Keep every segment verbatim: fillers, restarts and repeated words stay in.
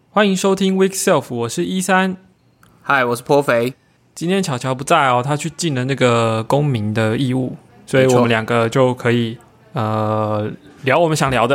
欢迎收听 Week Self， 我是一三。 嗨，我是颇肥。 今天巧巧不在哦，他去尽了那个公民的义务，所以我们两个就可以呃聊我们想聊的。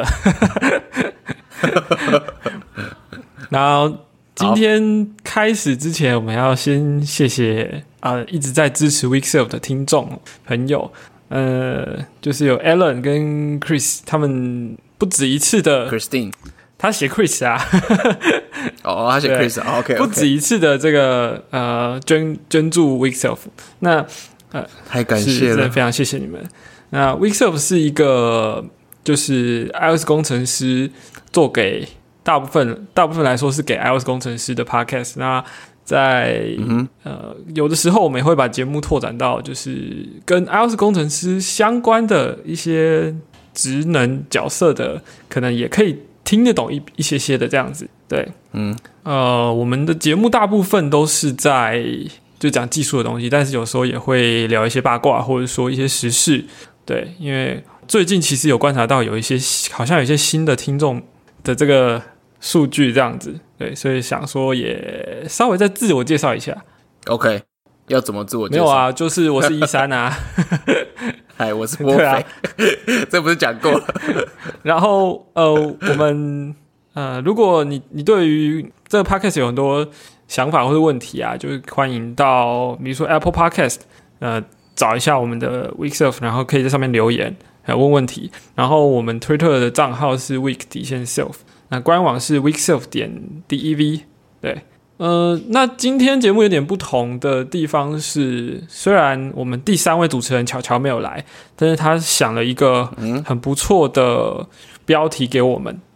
然后今天开始之前，我们要先谢谢啊、呃、一直在支持 Week Self 的听众朋友，呃，就是有 Alan 跟 Chris， 他们不止一次的 Christine。 他写 Chris 啊， 哦，他写 Chris 啊 ，OK， 不止一次的这个呃捐捐助 Weekself， 那呃太感谢了， 真的非常谢谢你们。那 Weekself 是一个就是 iOS 工程师做给大部分大部分来说是给 iOS 工程师的 podcast。那在、嗯、呃有的时候我们也会把节目拓展到就是跟 iOS 工程师相关的一些职能角色的，可能也可以听得懂 一, 一些些的这样子，对，嗯，呃，我们的节目大部分都是在就讲技术的东西，但是有时候也会聊一些八卦，或者说一些时事，对，因为最近其实有观察到有一些好像有一些新的听众的这个数据这样子，对，所以想说也稍微再自我介绍一下。 OK， 要怎么自我介绍？ 没有啊，就是我是一三啊。 嗨，我是颇肥、啊，这不是讲过了？ 然后呃，我们呃，如果你你对于这个 podcast 有很多想法或者问题啊，就是欢迎到比如说 Apple Podcast 呃找一下我们的 Weekself， 然后可以在上面留言还有问问题。然后我们 Twitter 的账号是 Week 底线 Self， 那官网是 Weekself 点 dev， 对。呃，那今天节目有点不同的地方是，虽然我们第三位主持人巧巧没有来，但是他想了一个很不错的标题给我们。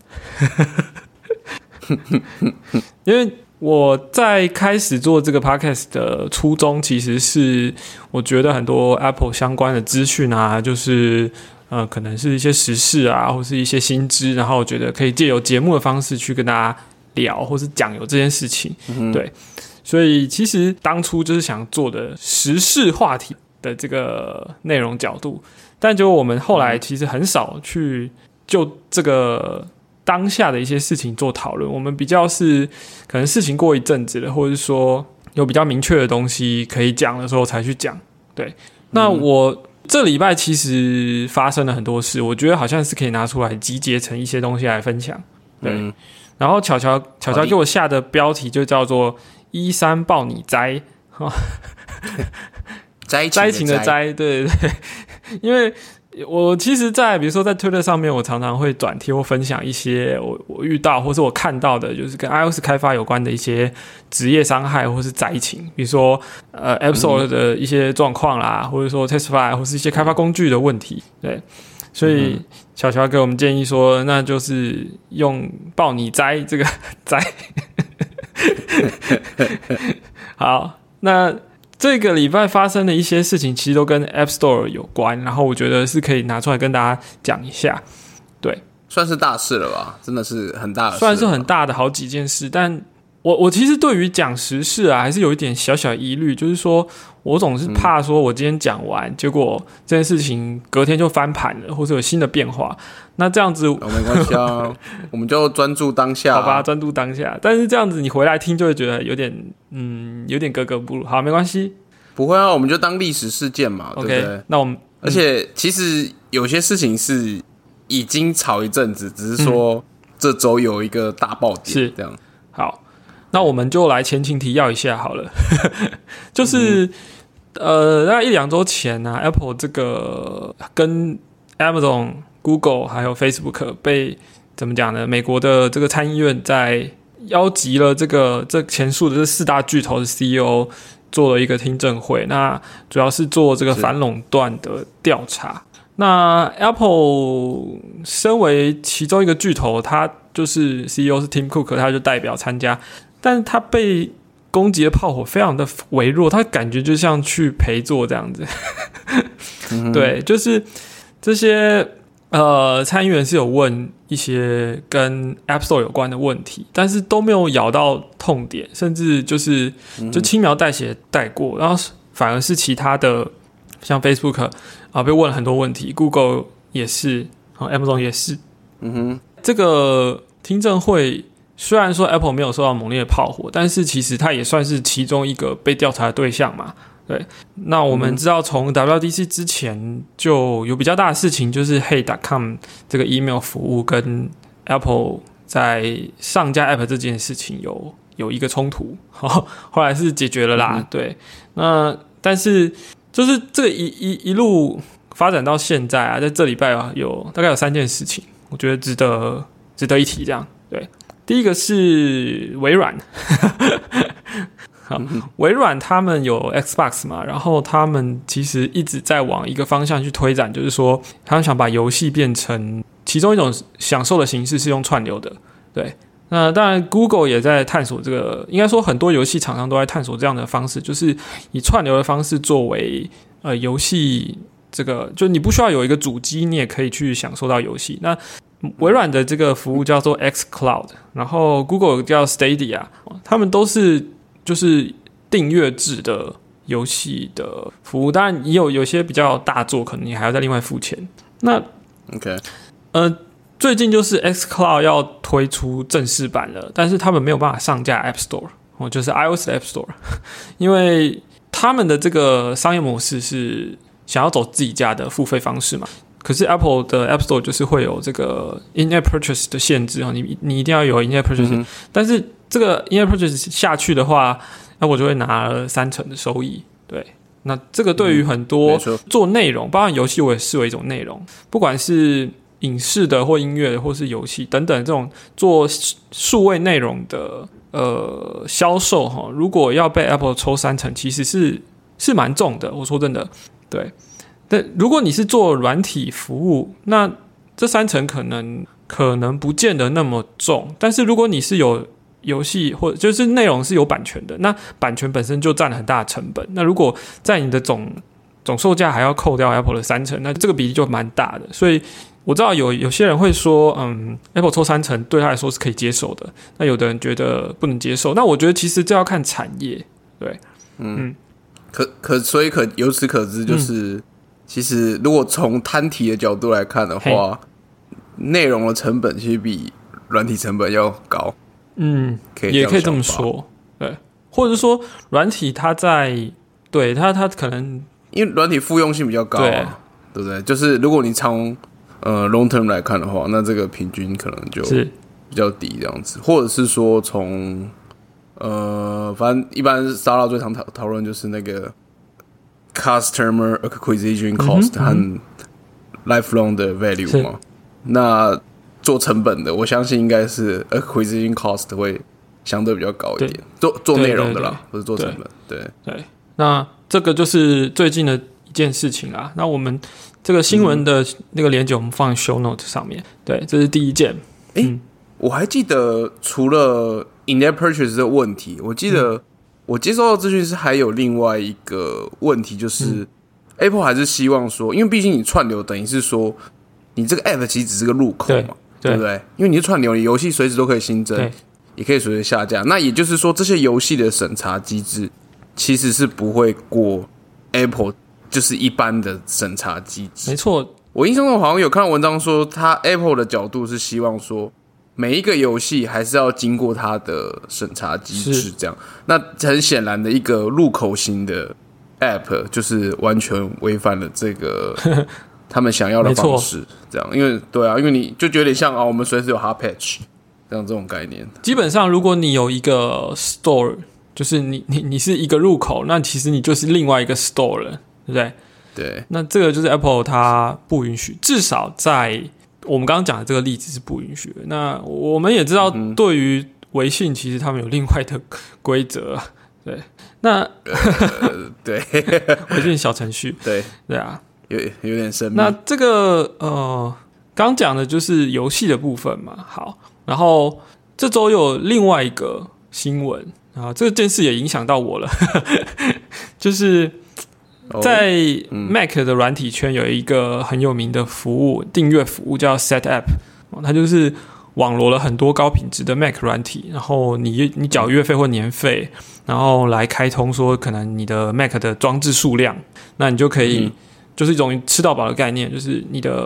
因为我在开始做这个 podcast 的初衷，其实是我觉得很多 Apple 相关的资讯啊，就是呃，可能是一些时事啊，或是一些新知，然后我觉得可以借由节目的方式去跟大家聊或是讲有这件事情、嗯、对，所以其实当初就是想做的时事话题的这个内容角度，但就我们后来其实很少去就这个当下的一些事情做讨论，我们比较是可能事情过一阵子了，或者是说有比较明确的东西可以讲的时候才去讲。对，那我这礼拜其实发生了很多事，我觉得好像是可以拿出来集结成一些东西来分享。对、嗯，然后巧巧巧巧给我下的标题就叫做一三抱你摘， 灾情的灾，对对对，因为我其实在比如说在 Twitter 上面，我常常会转贴或分享一些我我遇到或是我看到的，就是跟 iOS 开发有关的一些职业伤害或是灾情，比如说呃 App Store 的一些状况啦，或者说 Testify 或是一些开发工具的问题，对。所以巧巧给我们建议说，那就是用抱你摘这个摘。好，那这个礼拜发生的一些事情其实都跟 App Store 有关，然后我觉得是可以拿出来跟大家讲一下。对， 算是大事了吧，真的是很大的事， 算是很大的好几件事，但我我其实对于讲时事啊，还是有一点小小疑虑，就是说我总是怕说我今天讲完、嗯，结果这件事情隔天就翻盘了，或者有新的变化，那这样子、哦、 没关系啊，我们就专注当下、啊， 好吧，专注当下。但是这样子你回来听就会觉得有点嗯，有点格格不入。好，没关系， 不会啊，我们就当历史事件嘛 ，OK， 对不对？ 那我们、嗯、 而且其实有些事情是已经炒一阵子，只是说这周有一个大爆点，是这样。 好。那我们就来前情提要一下好了，就是、嗯、呃，大概一两周前呢、啊、，Apple 这个跟 Amazon、Google 还有 Facebook 被怎么讲呢？美国的这个参议院在邀集了这个这前述的这四大巨头的 C E O 做了一个听证会，那主要是做这个反垄断的调查。那 Apple 身为其中一个巨头，他就是 C E O 是 Tim Cook， 他就代表参加。但是他被攻击的炮火非常的微弱，他感觉就像去陪坐这样子。嗯、对，就是这些呃参议员是有问一些跟 App Store 有关的问题，但是都没有咬到痛点，甚至就是就轻描淡写带过，然后反而是其他的像 Facebook 啊、呃、被问了很多问题 ，Google 也是，Amazon 也是。嗯哼，这个听证会虽然说 Apple 没有受到猛烈的炮火，但是其实它也算是其中一个被调查的对象嘛。对，那我们知道从 W W D C 之前就有比较大的事情，就是 Hey 点 com 这个 email 服务跟 Apple 在上架 App 这件事情有有一个冲突，后来是解决了啦。嗯、对，那但是就是这个一一一路发展到现在啊，在这礼拜啊有大概有三件事情，我觉得值得值得一提。这样，对。第一个是微软，好，微软他们有 Xbox 嘛，然后他们其实一直在往一个方向去推展，就是说他们想把游戏变成其中一种享受的形式是用串流的，对。那当然 Google 也在探索这个，应该说很多游戏厂商都在探索这样的方式，就是以串流的方式作为呃游戏这个，就你不需要有一个主机，你也可以去享受到游戏。那微软的这个服务叫做 xCloud， 然后 Google 叫 Stadia， 他们都是就是订阅制的游戏的服务，当然也有有些比较大作，可能你还要再另外付钱。那 OK， 呃，最近就是 xCloud 要推出正式版了，但是他们没有办法上架 App Store， 哦，就是 iOS 的 App Store， 因为他们的这个商业模式是想要走自己家的付费方式嘛。可是 Apple 的 App Store 就是会有这个 in-app purchase 的限制，你你一定要有 in-app purchase，嗯、但是这个 in-app purchase 下去的话，那我就会拿了三成的收益。对，那这个对于很多做内容，包含游戏，我也视为一种内容，不管是影视的或音乐的或是游戏等等这种做数位内容的呃销售哈，如果要被 Apple 抽三成，其实是是蛮重的。我说真的，对。但如果你是做软体服务，那这三成可能可能不见得那么重。但是如果你是有游戏或者就是内容是有版权的，那版权本身就占了很大的成本。那如果在你的总总售价还要扣掉 Apple 的三成，那这个比例就蛮大的。所以我知道有有些人会说，嗯 ，Apple 抽三成对他来说是可以接受的。那有的人觉得不能接受。那我觉得其实这要看产业，对，嗯，嗯可可所以可由此可知就是。嗯其实，如果从摊提的角度来看的话，内容的成本其实比软体成本要高。嗯，可以也可以这么说，对，或者是说软体它在对它它可能因为软体复用性比较高、啊，对，对不对？就是如果你从呃 long term 来看的话，那这个平均可能就比较低这样子，或者是说从呃，反正一般 startup 最常讨讨论就是那个。Customer acquisition cost 和 lifelong 的 value 嘛，那做成本的，我相信应该是 acquisition cost 会相对比较高一点。做做内容的啦，不是做成本。对对, 对，那这个就是最近的一件事情啦。那我们这个新闻的那个连结，我们放在 show note 上面。对，这是第一件。 哎、嗯，我还记得除了 in-app purchase 的问题，我记得、嗯。我接收到资讯是还有另外一个问题，就是、嗯、Apple 还是希望说，因为毕竟你串流等于是说，你这个 App 其实只是个入口嘛， 对, 对不对？因为你是串流，你游戏随时都可以新增，也可以随时下架。那也就是说，这些游戏的审查机制其实是不会过 Apple 就是一般的审查机制。 没错， 我印象中好像有看到文章说，他 Apple 的角度是希望说。每一个游戏还是要经过它的审查机制，这样。那很显然的一个入口型的 App 就是完全违反了这个他们想要的方式，这样。因为对啊，因为你就觉得有点像啊，我们随时有 hot patch 这样这种概念。 基本上，如果你有一个 store， 就是你你你是一个入口，那其实你就是另外一个 store 了，对不对？ 对。 那这个就是 Apple 它不允许，至少在。我们刚刚讲的这个例子是不允许的。那我们也知道，对于微信，其实他们有另外的规则。对，那、 呃、对微信小程序， 对对啊， 有有点神秘。 那这个呃，刚讲的就是游戏的部分嘛。好，然后这周有另外一个新闻啊，这件事也影响到我了，就是。在 Mac 的软体圈有一个很有名的服务，订阅服务叫 SetApp， 它就是网罗了很多高品质的 Mac 软体，然后你你缴月费或年费，然后来开通说可能你的 Mac 的装置数量，那你就可以、嗯、就是一种吃到饱的概念，就是你的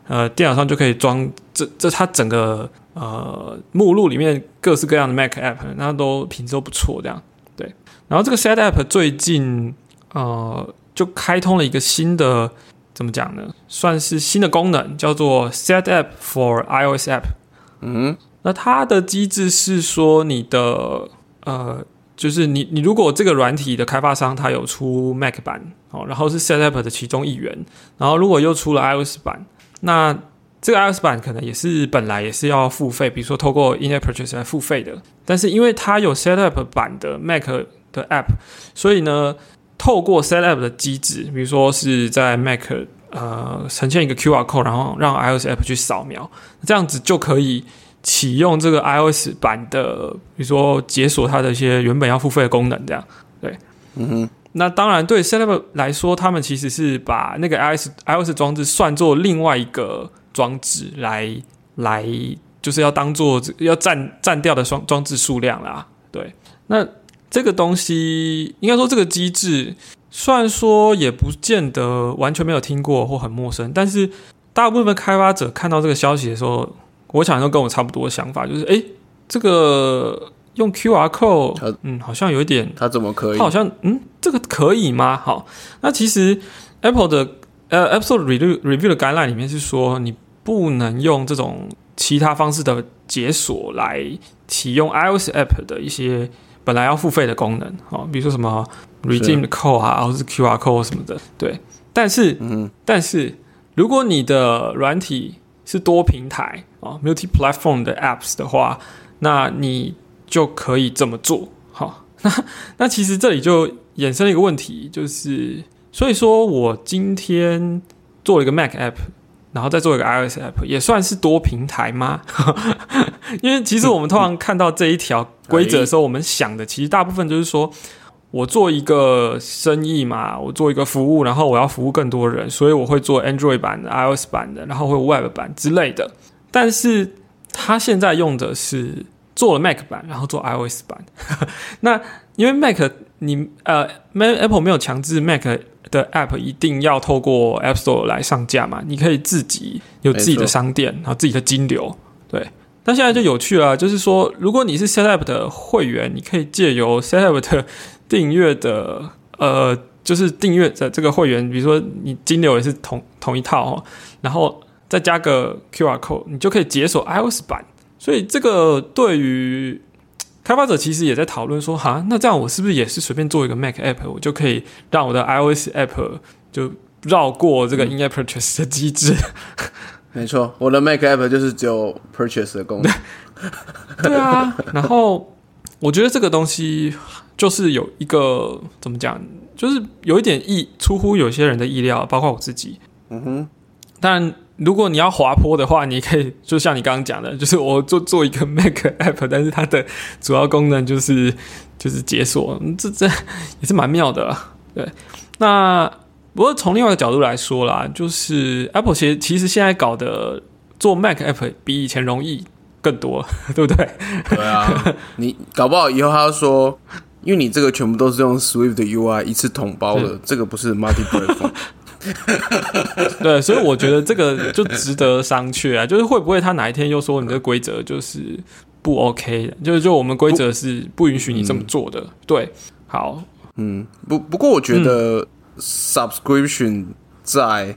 呃电脑上就可以装这这它整个呃目录里面各式各样的 Mac App， 那都品质都不错这样。对，然后这个 Set App 最近呃就开通了一个新的怎么讲呢？算是新的功能，叫做 Set App for iOS App。 嗯， 那它的机制是说你的呃。就是你，你如果这个软体的开发商它有出 Mac 版，哦，然后是 Set App 的其中一员，然后如果又出了 iOS 版，那这个 iOS 版可能也是本来也是要付费，比如说透过 In-App Purchase 来付费的，但是因为它有 Set App 版的 Mac 的 App， 所以呢，透过 Set App 的机制，比如说是在 Mac 呃呈现一个 Q R code， 然后让 iOS App 去扫描，这样子就可以启用这个 iOS 版的，比如说解锁它的一些原本要付费的功能，这样对， 嗯哼。 那当然对 Set App 来说，他们其实是把那个 iOS iOS 装置算作另外一个装置来来，就是要当做要占占掉的装装置数量啦。对，那这个东西应该说这个机制，虽然说也不见得完全没有听过或很陌生，但是大部分开发者看到这个消息的时候，我想都跟我差不多的想法，就是哎，这个用 Q R code， 嗯，好像有一点， 它怎么可以？ 它好像，嗯，这个可以吗？好，那其实 Apple 的呃 App Store Review Review 的 guideline 里面是说，你不能用这种其他方式的解锁来启用 iOS App 的一些本来要付费的功能，哦，比如说什么 Redeem Code 啊，或是 Q R code 什么的，对。但是，嗯，但是如果你的软体是多平台啊 multi-platform 的 apps 的话，那你就可以这么做。好，那那其实这里就衍生了一个问题，就是所以说我今天做了一个 Mac app， 然后再做一个 iOS app， 也算是多平台吗？因为其实我们通常看到这一条规则的时候，我们想的其实大部分就是说，我做一个生意嘛，我做一个服务，然后我要服务更多人，所以我会做 Android 版的、iOS 版的，然后会有 Web 版之类的。但是他现在用的是做了 Mac 版，然后做 iOS 版。那因为 Mac 你呃 Apple 没有强制 Mac 的 App 一定要透过 App Store 来上架嘛，你可以自己有自己的商店，然后自己的金流，对。那现在就有趣了，就是说，如果你是 Set App 的会员，你可以借由 Set App 的订阅的，呃，就是订阅的这个会员，比如说你金流也是同同一套哦，然后再加个 Q R code， 你就可以解锁 iOS 版。所以这个对于开发者其实也在讨论说，哈，那这样我是不是也是随便做一个 Mac App， 我就可以让我的 iOS App 就绕过这个 In-App Purchase 的机制？ 没错，我的 Mac App 就是只有 Purchase 的功能。 对啊，然后我觉得这个东西就是有一个怎么讲，就是有一点意出乎有些人的意料，包括我自己。嗯哼，但如果你要滑坡的话，你可以就像你刚刚讲的，就是我做做一个 Mac App， 但是它的主要功能就是就是解锁，这这也是蛮妙的啦。对，那不过从另外一个角度来说啦，就是 Apple 其实其实现在搞的做 Mac App 比以前容易更多，对不对？ 对啊，你搞不好以后他说，因为你这个全部都是用 Swift 的 U I 一次统包的，这个不是 multi-platform。 对，所以我觉得这个就值得商榷啊，就是会不会他哪一天又说你这个规则就是不 OK 的，就是就我们规则是不允许你这么做的。嗯、对，好， 嗯，不不过我觉得 subscription 在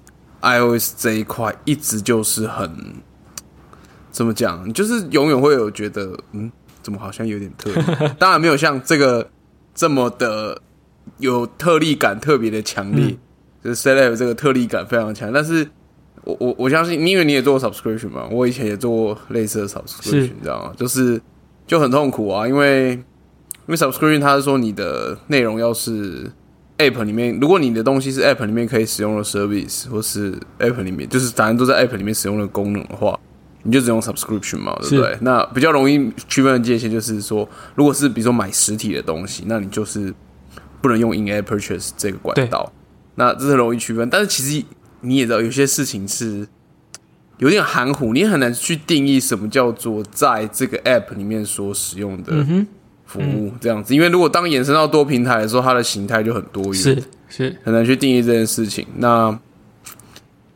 iOS 这一块一直就是很怎么讲，就是永远会有觉得嗯，怎么好像有点特别，当然没有像这个这么的有特例感特别的强烈。嗯，就是 Set App 这个特例感非常强，但是我我我相信，因为你也做过 subscription 嘛，我以前也做过类似的 subscription， 你知道吗？就是就很痛苦啊，因为因为 subscription 它是说你的内容要是 App 里面，如果你的东西是 App 里面可以使用的 service， 或是 App 里面就是反正都在 App 里面使用的功能的话，你就只用 subscription 嘛，对不对？那比较容易区分的界限就是说，如果是比如说买实体的东西，那你就是不能用 in-app purchase 这个管道。那这是容易区分，但是其实你也知道，有些事情是有点含糊，你很难去定义什么叫做在这个 App 里面所使用的服务这样子。因为如果当延伸到多平台的时候，它的形态就很多元， 是是很难去定义这件事情。那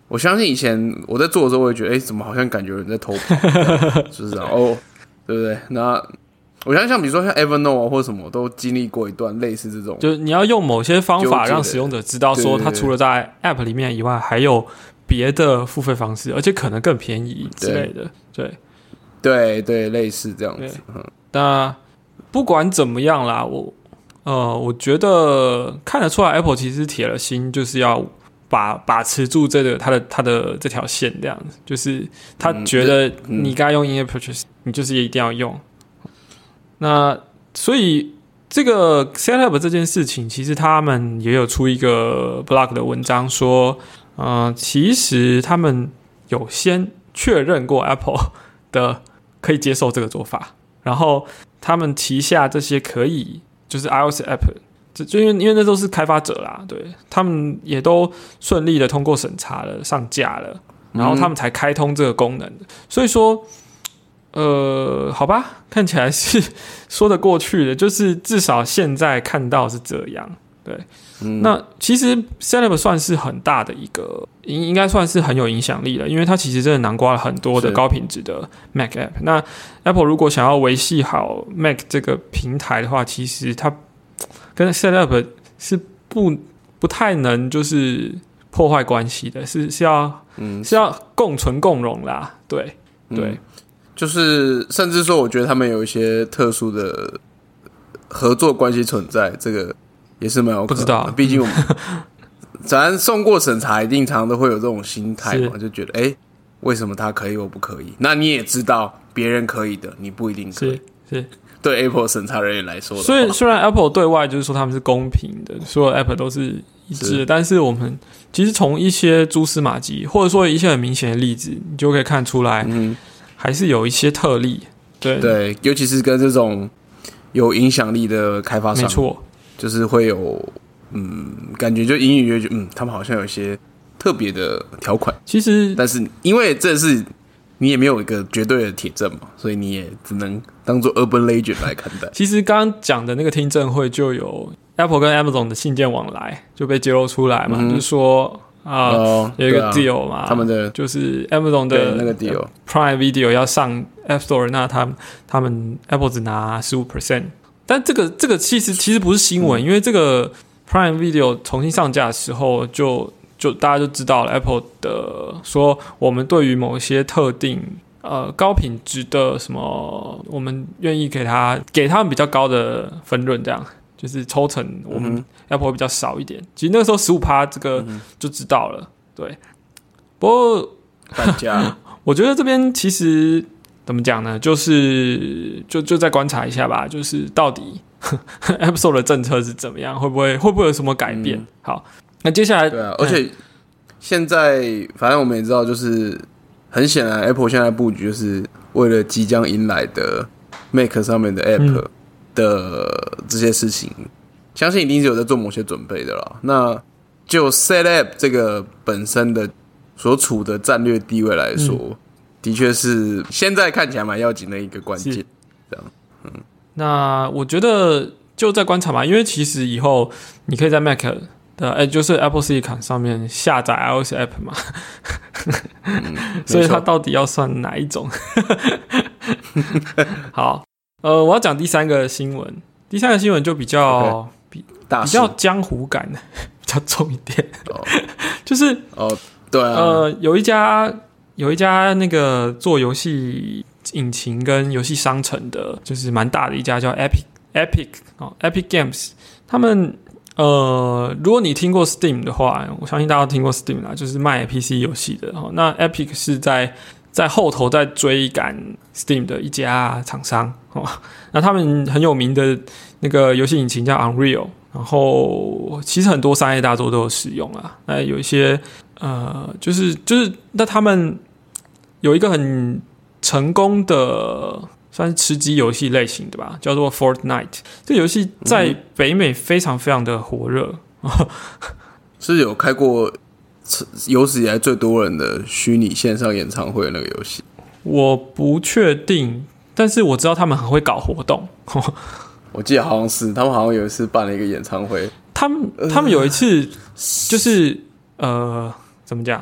我相信以前我在做的时候，我会觉得，哎、欸，怎么好像感觉有人在偷跑，就是这样哦，对不对？那我相信像比如说像 Evernote 或什么，都经历过一段类似这种， 就是你要用某些方法让使用者知道说，他除了在 App 里面以外，还有别的付费方式，而且可能更便宜之类的。对， 对对，类似这样子。嗯、 那不管怎么样啦，我呃，我觉得看得出来 Apple 其实铁了心，就是要把把持住这个它的它的这条线，这样子，就是他觉得你该用 In-App Purchase，、嗯、你就是一定要用。那所以这个 Setup 这件事情，其实他们也有出一个 blog 的文章说，呃，其实他们有先确认过 Apple 的可以接受这个做法，然后他们旗下这些可以就是 iOS App， 就因为因为那都是开发者啦，对，他们也都顺利的通过审查了，上架了，然后他们才开通这个功能的，所以说。呃，好吧，看起来是说得过去的，就是至少现在看到是这样，对。嗯、那其实 Setup 算是很大的一个，应应该算是很有影响力了，因为它其实真的囊括了很多的高品质的 Mac App。那 Apple 如果想要维系好 Mac 这个平台的话，其实它跟 Setup 是不不太能就是破坏关系的，是是要、嗯、是要共存共荣啦，对对。嗯就是甚至说我觉得他们有一些特殊的合作关系存在，这个也是蛮有可能的。不知道，毕竟我们咱送过审查，一定常常都会有这种心态嘛，就觉得哎、欸，为什么他可以我不可以？那你也知道别人可以的，你不一定可以。 是, 是对 Apple 审查人员来说的话， 所以虽然 Apple 对外就是说他们是公平的，所有 App 都是一致的，是但是我们其实从一些蛛丝马迹，或者说一些很明显的例子，你就可以看出来。嗯，还是有一些特例，对对，尤其是跟这种有影响力的开发商， 没错， 就是会有嗯，感觉就隐隐约约，嗯，他们好像有一些特别的条款。 其实， 但是因为这是你也没有一个绝对的铁证嘛，所以你也只能当做 urban legend 来看待。 其实刚刚讲的那个听证会就有 Apple 跟 Amazon 的信件往来就被揭露出来嘛，嗯、就是说。啊、哦，有一个 deal 嘛， 他们的就是 Amazon 的那个 deal Prime Video 要上 App Store， 那他们他们 Apple 只拿 百分之十五， 但这个这个其实其实不是新闻、嗯，因为这个 Prime Video 重新上架的时候就就大家就知道了 Apple 的说我们对于某些特定呃高品质的什么，我们愿意给他给他们比较高的分润这样。就是抽成我们 Apple 会比较少一点，嗯、其实那个时候 百分之十五 这个就知道了，对。不过大家， 我觉得这边其实怎么讲呢？就是就就再观察一下吧，就是到底 App Store 的政策是怎么样，会不会会不会有什么改变？嗯、好，那接下来对啊，而且现在反正我们也知道，就是很显然 Apple 现在布局就是为了即将迎来的 Mac 上面的 App。嗯的这些事情，相信一定是有在做某些准备的啦。那就 Setup 这个本身的所处的战略地位来说，嗯、的确是现在看起来蛮要紧的一个关键。这样，嗯，那我觉得就在观察嘛，因为其实以后你可以在 Mac 的，哎、欸，就是 Apple Silicon 上面下载 iOS App 嘛，嗯、所以它到底要算哪一种？好。呃，我要讲第三个新闻，第三个新闻就比较、okay. 比比较江湖感，比较重一点， oh. 就是哦，对啊， 呃，有一家有一家那个做游戏引擎跟游戏商城的，就是蛮大的一家叫 Epic Epic 哦 Epic Games， 他们呃，如果你听过 Steam 的话，我相信大家都听过 Steam 啦，就是卖 P C 游戏的哦。那 Epic 是在在后头在追赶 Steam 的一家厂商哦，那他们很有名的那个游戏引擎叫 Unreal， 然后其实很多商业大作都有使用啊。那有一些呃，就是就是那他们有一个很成功的算是吃鸡游戏类型的吧，叫做 Fortnite。这游戏在北美非常非常的火热，嗯、 是有开过有史以来最多人的虚拟线上演唱会的那个游戏， 我不确定，但是我知道他们很会搞活动。 我记得好像是他们好像有一次办了一个演唱会， 他们他们有一次就是呃怎么讲？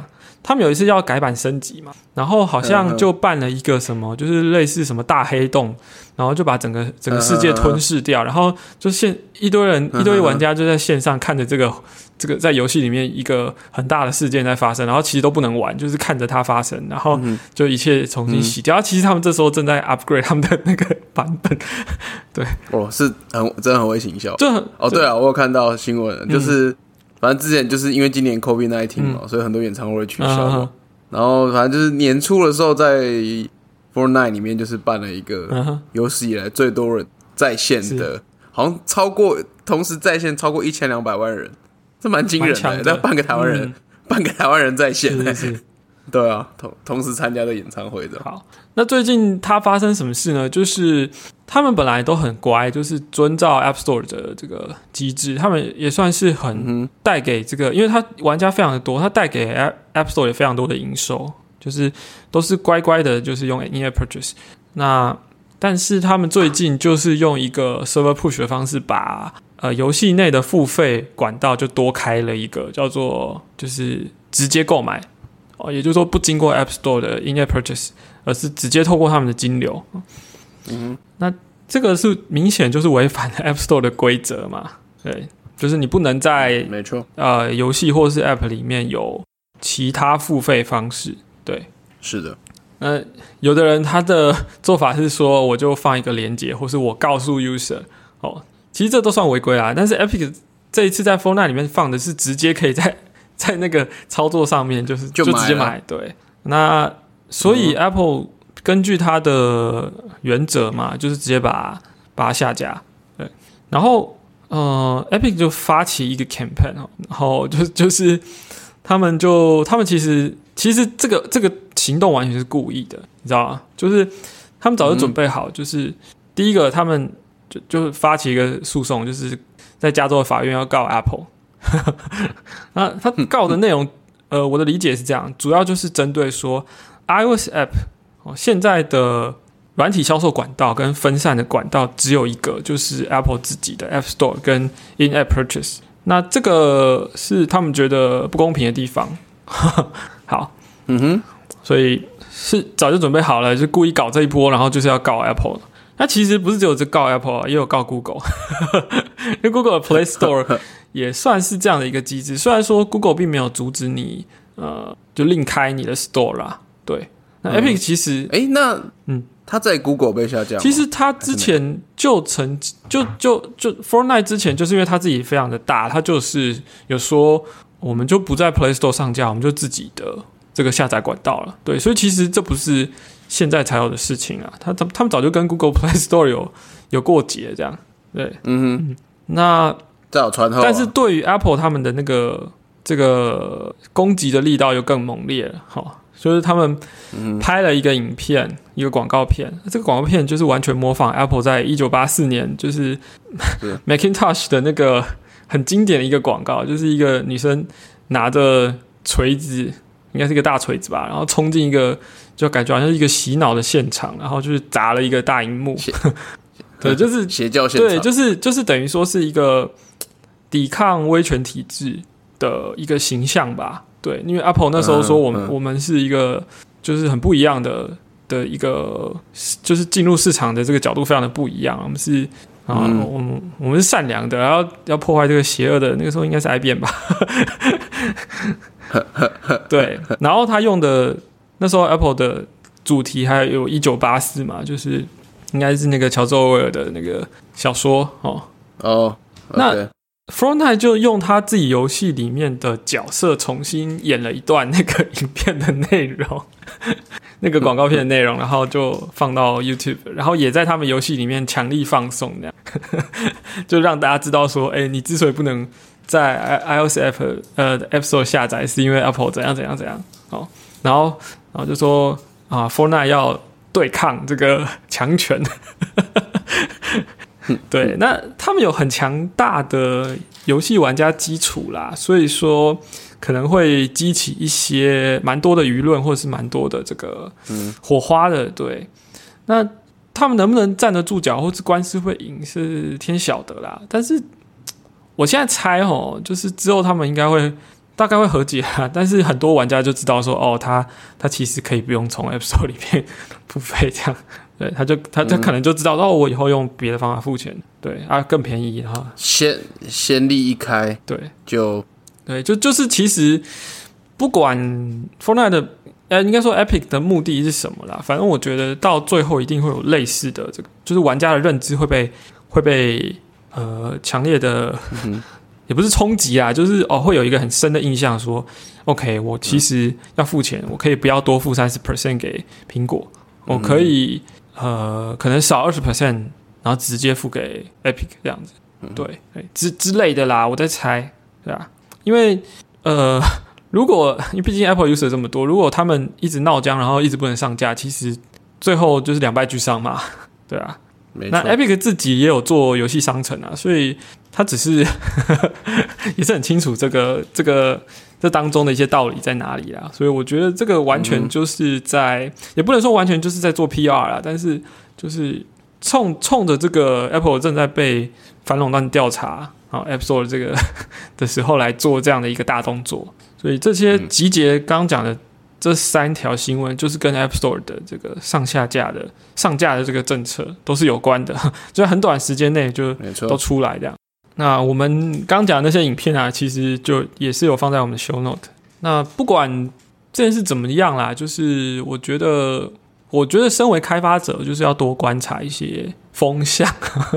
他们有一次要改版升级嘛，然后好像就办了一个什么，就是类似什么大黑洞，然后就把整个整个世界吞噬掉，然后就现一堆人一堆玩家就在线上看着这个这个在游戏里面一个很大的事件在发生，然后其实都不能玩，就是看着它发生，然后就一切重新洗掉。嗯、其实他们这时候正在 upgrade 他们的那个版本，对， 哦，是很真的很会行销， 就很哦，对啊，我有看到新闻，就是。嗯反正之前就是因为今年 COVID 十九 嘛、嗯，所以很多演唱会取消嘛。Uh-huh. 然后反正就是年初的时候，在 Fortnite 里面就是办了一个有史以来最多人在线的，好像超过同时在线超过一千两百万人，这蛮惊人的。但半个台湾人，嗯、半个台湾人在线， 是是是对啊，同同时参加的演唱会的。 好，那最近它发生什么事呢？就是他们本来都很乖，就是遵照 App Store 的这个机制，他们也算是很带给这个，因为他玩家非常的多，他带给 App Store 也非常多的营收，就是都是乖乖的，就是用 In-App Purchase。那但是他们最近就是用一个 Server Push 的方式把，把呃游戏内的付费管道就多开了一个，叫做就是直接购买。哦，也就是说不经过 App Store 的 In-App Purchase， 而是直接透过他们的金流。嗯，那这个是明显就是违反了 App Store 的规则嘛？对，就是你不能在没错呃游戏或是 App 里面有其他付费方式。对， 是的。 那有的人他的做法是说，我就放一个连结，或是我告诉 user 哦，其实这都算违规啦。但是 Epic 这一次在 Fortnite 里面放的是直接可以在在那个操作上面就是就直接买，对。那所以 Apple 根据它的原则嘛，就是直接把把它下架，对。然后呃 ，Epic 就发起一个 campaign， 然后就就是他们就他们其实其实这个这个行动完全是故意的，你知道吗？就是他们早就准备好，嗯、就是第一个他们就就发起一个诉讼，就是在加州的法院要告 Apple。那他告的内容，呃，我的理解是这样，主要就是针对说 iOS App、哦、现在的软体销售管道跟分散的管道只有一个，就是 Apple 自己的 App Store 跟 In-App Purchase。那这个是他们觉得不公平的地方。好， 嗯哼， 所以是早就准备好了，就故意搞这一波，然后就是要告 Apple。那其实不是只有这告 Apple， 也有告 Google， 因为 Google 的 Play Store 也算是这样的一个机制。虽然说 Google 并没有阻止你，呃，就另开你的 Store 啦，对。那 Epic 其实， 哎、嗯，那嗯，他在 Google 被下架吗？ 其实他之前就曾就就就 Fortnite 之前，就是因为他自己非常的大，他就是有说我们就不在 Play Store 上架，我们就自己的这个下载管道了，对。所以其实这不是现在才有的事情啊，他他们早就跟 Google Play Store 有有过节这样，对， 嗯哼， 那这有传后、啊， 但是对于 Apple 他们的那个这个攻击的力道又更猛烈了，哈，就是他们拍了一个影片，嗯、一个广告片，这个广告片就是完全模仿 Apple 在一九八四年就是 Macintosh 的那个很经典的一个广告，就是一个女生拿着锤子，应该是一个大锤子吧，然后冲进一个。就感觉好像是一个洗脑的现场，然后就是砸了一个大荧幕，对，就是邪教现场， 对，就是就是等于说是一个抵抗威权体制的一个形象吧，对，因为 Apple 那时候说我们、嗯嗯、我们是一个就是很不一样的的一个，就是进入市场的这个角度非常的不一样，我们是啊，嗯、我们我们是善良的，然后要破坏这个邪恶的，那个时候应该是 I B M 吧，对，然后他用的。那时候 Apple 的主题还有一九八四嘛，就是应该是那个乔治欧威尔的那个小说哦。 哦， oh, okay. 那 Fortnite 就用他自己游戏里面的角色重新演了一段那个影片的内容，那个广告片的内容，然后就放到 YouTube， 然后也在他们游戏里面强力放送，这样就让大家知道说，哎、欸，你之所以不能在 iOS App 呃 App Store 下载，是因为 Apple 怎样怎样怎样哦。然后，然后就说啊 ，Fortnite 要对抗这个强权。对，那他们有很强大的游戏玩家基础啦，所以说可能会激起一些蛮多的舆论，或者是蛮多的这个火花的。对，那他们能不能站得住脚，或是官司会赢，是天晓得啦。但是我现在猜哦，就是之后他们应该会大概会和解啊，但是很多玩家就知道说，哦，他他其实可以不用从 App Store 里面付费这样，对，他就他他可能就知道，嗯、哦，我以后用别的方法付钱，对啊，更便宜哈， 先先例一开， 对， 就对，就就是其实不管 Fortnite 的，呃，应该说 Epic 的目的是什么啦，反正我觉得到最后一定会有类似的这个，就是玩家的认知会被会被呃强烈的。嗯也不是冲击啊，就是哦，会有一个很深的印象说 ，OK， 我其实要付钱，我可以不要多付三十 percent 给苹果，我可以呃可能少二十 percent， 然后直接付给 Epic 这样子，对，之之类的啦，我在猜，对啊，因为呃，如果因为毕竟 Apple user 这么多，如果他们一直闹僵，然后一直不能上架，其实最后就是两败俱伤嘛，对啊。那 Epic 自己也有做游戏商城啊，所以他只是也是很清楚这个这个这当中的一些道理在哪里啦，所以我觉得这个完全就是在、嗯、也不能说完全就是在做 P R 啦，但是就是冲冲着这个 Apple 正在被反垄断调查啊 App Store 这个的时候来做这样的一个大动作，所以这些集结刚刚讲的这三条新闻就是跟 App Store 的这个上下架的上架的这个政策都是有关的，就在很短时间内就都出来这样。那我们刚讲的那些影片啊，其实就也是有放在我们的 show note。那不管这件事怎么样啦，就是我觉得，我觉得身为开发者，就是要多观察一些风向。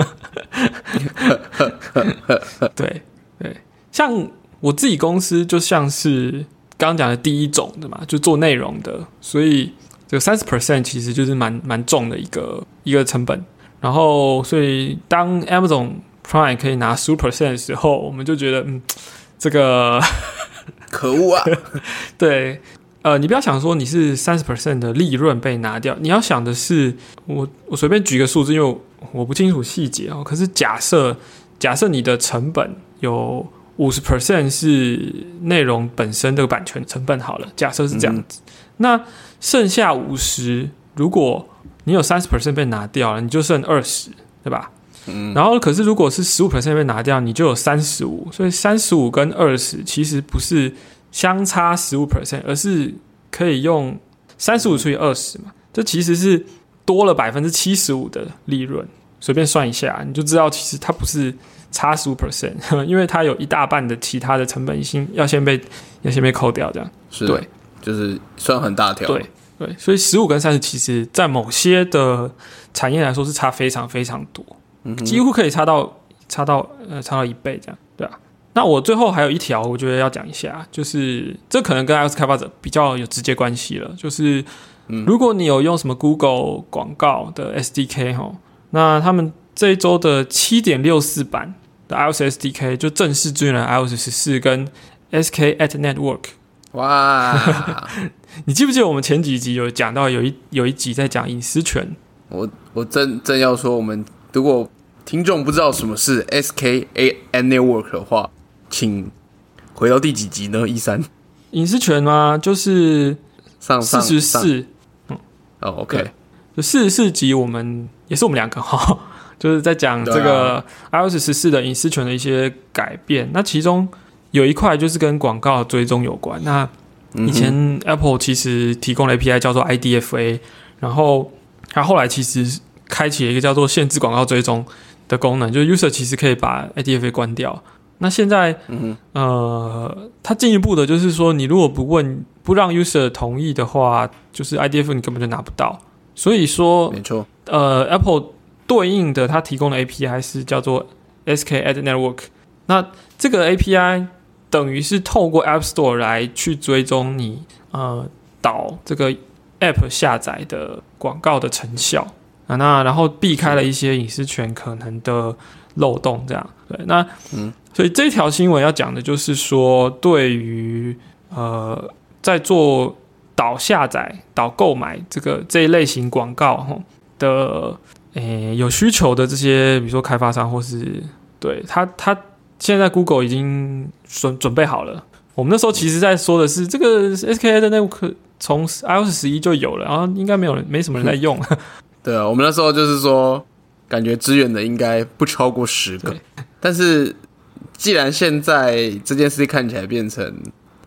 对对，像我自己公司就像是刚刚讲的第一种的嘛，就做内容的，所以这个 百分之三十 其实就是蛮蛮重的一个一个成本。然后，所以当 Amazon Prime 可以拿 百分之十五 的时候，我们就觉得，嗯，这个可恶啊！ 对，呃，你不要想说你是 百分之三十 的利润被拿掉，你要想的是，我我随便举个数字，因为我不清楚细节哦。可是假设假设你的成本有 百分之五十 是内容本身这个版权成本好了，假设是这样子，嗯、那剩下五十，如果你有 百分之三十 被拿掉了，你就剩二十，对吧？嗯、然后可是如果是 百分之十五 被拿掉，你就有三十五，所以三十五跟二十其实不是相差 百分之十五， 而是可以用三十五除以二十嘛，这其实是多了 百分之七十五 的利润，随便算一下你就知道其实它不是差 百分之十五， 因为它有一大半的其他的成本性要先被要先被扣掉，这样是对， 就是算很大条， 对对，所以十五跟三十其实在某些的产业来说是差非常非常多，嗯、几乎可以差到差到呃差到一倍这样，对啊。那我最后还有一条，我觉得要讲一下，就是这可能跟 iOS 开发者比较有直接关系了，就是如果你有用什么 Google 广告的 S D K 齁，那他们这一周的 七点六四 版的 iOS S D K 就正式支援了 iOS 十四跟 S K at Network。 哇！ 你记不记得我们前几集有讲到有一有一集在讲隐私权？ 我我正正要说，我们如果听众不知道什么是 S K at Network 的话，请回到第几集呢？一三隐私权吗？就是上四十四。嗯， 哦 ，OK， 就四十四集，我们也是我们两个哈，就是在讲这个 iOS 十四的隐私权的一些改变。那其中有一块就是跟广告追踪有关。那以前 Apple 其实提供了 A P I 叫做 I D F A， 然后它后来其实开启了一个叫做限制广告追踪的功能，就是 user 其实可以把 I D F A 关掉。那现在，嗯、呃，它进一步的就是说，你如果不问不让 user 同意的话，就是 I D F A 你根本就拿不到。所以说， 没错， 呃 ，Apple 对应的它提供的 A P I 是叫做 S K at Network。那这个 A P I 等于是透过 App Store 来去追踪你呃导这个 App 下载的广告的成效啊，那然后避开了一些隐私权可能的漏洞，这样对。那嗯，所以这条新闻要讲的就是说，对于呃在做导下载、导购买这个这一类型广告的诶有需求的这些，比如说开发商或是对他他。现在 Google 已经准准备好了。我们那时候其实在说的是，这个 S K A 的 Network 从 iOS 十一就有了，然后应该没有人没什么人在用。 对啊，我们那时候就是说，感觉支援的应该不超过十个。但是既然现在这件事看起来变成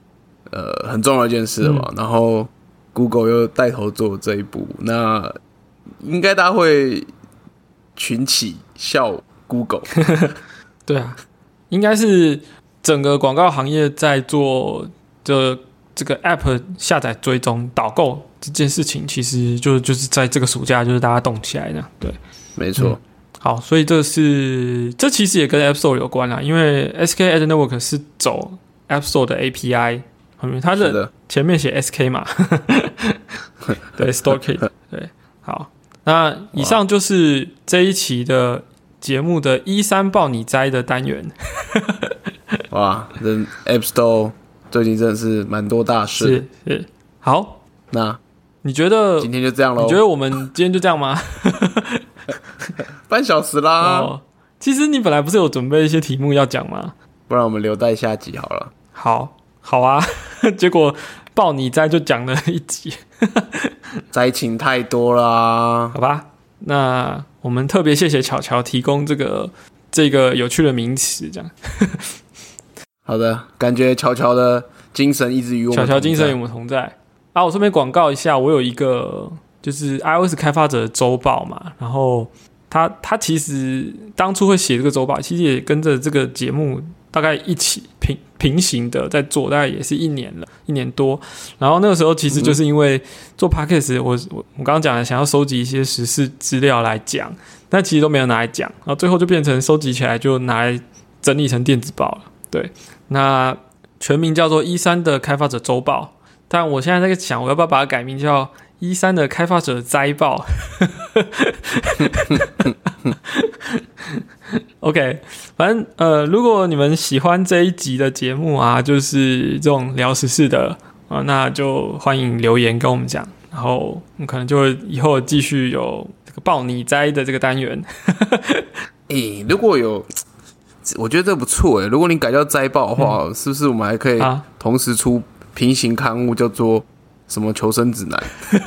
呃很重要的一件事了嘛。嗯、然后 Google 又带头做这一步，那应该大家会群起笑 Google。 对啊，应该是整个广告行业在做这这个 App 下载追踪导购这件事情，其实就就是在这个暑假就是大家动起来的。对， 没错。嗯好，所以这是这其实也跟 App Store 有关啦，因为 S K Ad Network 是走 App Store 的 A P I， 它的前面写 S K 嘛，对 Store Kit， 对，好，那以上就是这一期的节目的一三报你摘的单元。 哇，这 App Store 最近真的是蛮多大事， 是是，好， 那你觉得今天就这样咯？ 你觉得我们今天就这样吗？ 半小时啦、 哦。其实你本来不是有准备一些题目要讲吗？ 不然我们留待下集好了。 好，好啊。结果报你摘就讲了一集， 灾情太多啦。 好吧，那我们特别谢谢巧巧提供这个这个有趣的名词，这样。 好的，感觉巧巧的精神一直与我们同在。 巧巧精神与我们同在啊！我顺便广告一下，我有一个。就是 iOS 开发者的周报嘛，然后他他其实当初会写这个周报，其实也跟着这个节目大概一起平平行的在做，大概也是一年了，一年多。然后那个时候其实就是因为做 Podcast， 我我我刚刚讲的想要收集一些时事资料来讲，但其实都没有拿来讲，然后最后就变成收集起来就拿来整理成电子报了。对，那全名叫做一三的开发者周报，但我现在在想，我要不要把它改名叫一三的开发者摘报。OK， 反正呃，如果你们喜欢这一集的节目啊，就是这种聊时事的啊，那就欢迎留言跟我们讲，然后我们可能就会以后继续有这个报你摘的这个单元。 欸，如果有，我觉得这不错哎。如果你改叫摘报的话，嗯、是不是我们还可以同时出平行刊物，叫做什么求生指南？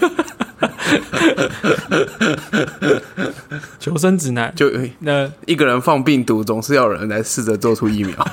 求生指南就那一个人放病毒，总是要有人来试着做出疫苗。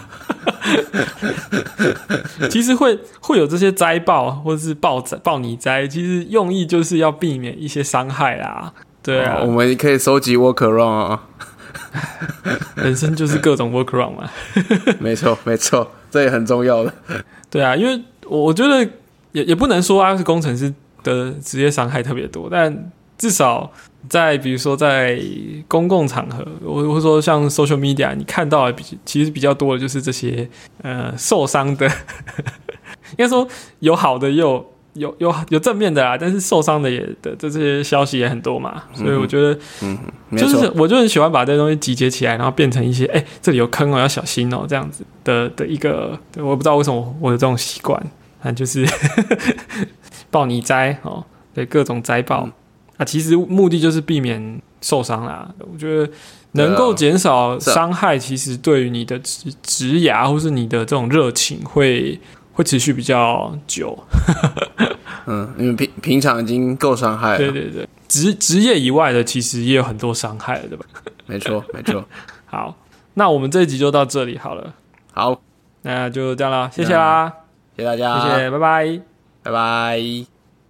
其实会会有这些摘报或者是报报你摘，其实用意就是要避免一些伤害啦。对啊， 哦、我们可以收集 workaround 啊。 人生就是各种 workaround 嘛。 没错没错，这也很重要的。对啊，因为我觉得也也不能说 iOS 工程师的职业伤害特别多，但至少在比如说在公共场合，我会说像 social media， 你看到的比其实比较多的就是这些呃受伤的，应该说有好的也有有有有正面的啦，但是受伤的也的这些消息也很多嘛，所以我觉得，嗯，就是我就很喜欢把这些东西集结起来，然后变成一些哎、欸、这里有坑哦，要小心哦这样子的的一个，我不知道为什么我有这种习惯，但就是报你摘哦，对各种摘报。嗯啊，其实目的就是避免受伤啦。我觉得能够减少伤害，其实对于你的职职涯或是你的这种热情会会持续比较久。 嗯，因为平平常已经够伤害了。 对对对，职职业以外的其实也有很多伤害了，对吧？ 没错没错。 好，那我们这一集就到这里好了。 好， 那就这样啦，谢谢啦， 谢谢大家， 谢谢，拜拜， 拜拜。